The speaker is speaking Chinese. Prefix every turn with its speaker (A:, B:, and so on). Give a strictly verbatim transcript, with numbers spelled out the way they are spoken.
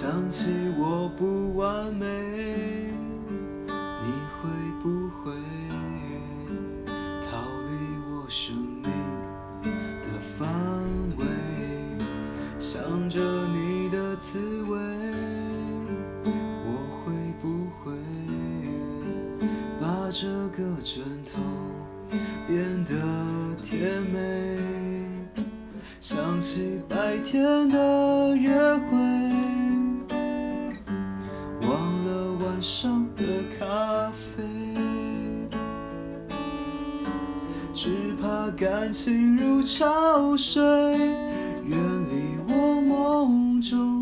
A: 想起我不完美，你会不会逃离我生命的范围？想着你的滋味，我会不会把这个枕头变得甜美？想起白天的约会，忘了晚上的咖啡，只怕感情如潮水，远离我梦中